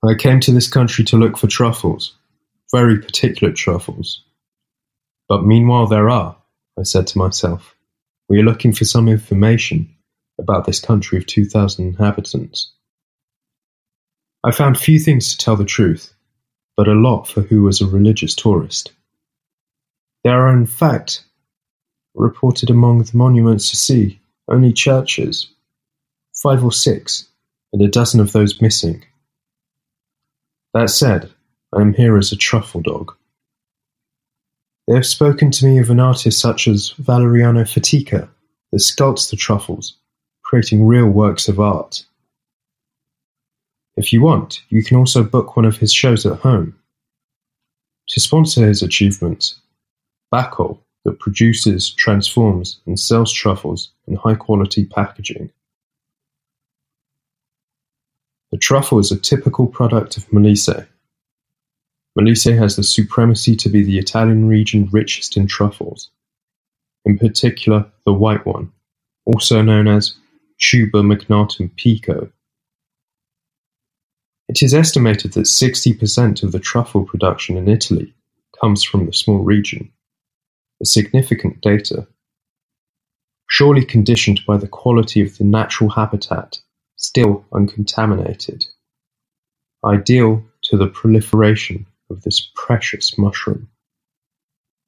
I came to this country to look for truffles, very particular truffles. But meanwhile there are, I said to myself. We are looking for some information about this country of 2,000 inhabitants. I found few things to tell the truth, but a lot for who was a religious tourist. There are in fact, reported among the monuments to see, only churches, 5 or 6, and a dozen of those missing. That said, I am here as a truffle dog. They have spoken to me of an artist such as Valeriano Fatica that sculpts the truffles, creating real works of art. If you want, you can also book one of his shows at home. To sponsor his achievements, Bacol, that produces, transforms, and sells truffles in high-quality packaging. The truffle is a typical product of Molise. Molise has the supremacy to be the Italian region richest in truffles, in particular the white one, also known as Tuber magnatum Pico. It is estimated that 60% of the truffle production in Italy comes from the small region, a significant data, surely conditioned by the quality of the natural habitat, still uncontaminated, ideal to the proliferation of this precious mushroom.